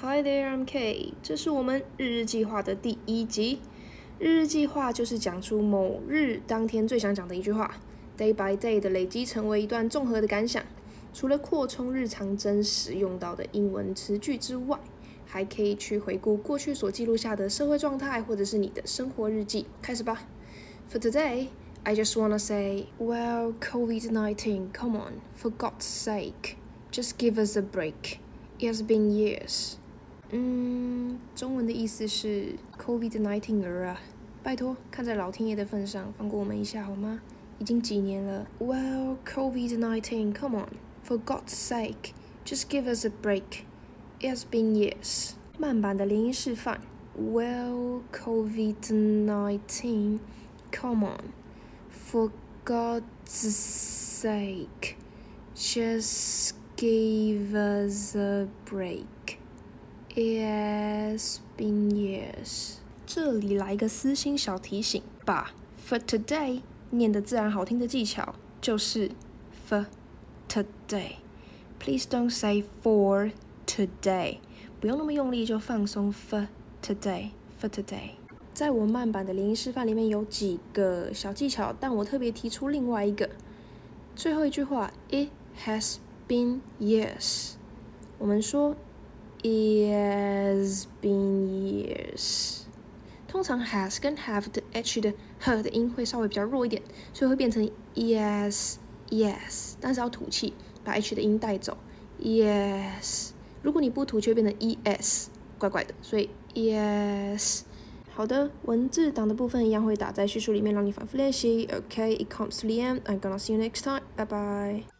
Hi there, I'm Kay。这是我们日日计划的第1集。日日计划就是讲出某日当天最想讲的一句话 ，day by day 的累积成为一段综合的感想。除了扩充日常真实用到的英文词句之外，还可以去回顾过去所记录下的社会状态，或者是你的生活日记。开始吧。For today, I just wanna say, well, COVID-19, come on, for God's sake, just give us a break. It has been years. 中文的意思是 COVID-19 儿啊，拜托，看在老天爷的份上，放过我们一下好吗？已经几年了。Well, COVID-19, come on, for God's sake, just give us a break. It has been years. 慢版的连音示范。Well, COVID-19, come on, for God's sake, just give us a break.It has been years. 这里来个私心小提醒，把 for today 念得自然好听的技巧就是 for today. Please don't say for today. 不用那么用力，就放松 for today. For today. 在我慢版的连音示范里面有几个小技巧，但我特别提出另外一个。最后一句话 It has been years. 我们说It has been years. 通常 has 跟 have 的 h 的 h 的音会稍微比较弱一点，所以会变成 yes yes， 但是要吐气，把 h 的音带走。yes， 如果你不吐气会变成 es， 怪怪的，所以 yes。好的，文字档的部分一样会打在叙述里面，让你反复练习。Okay, it comes to the end. I'm gonna see you next time. Bye bye.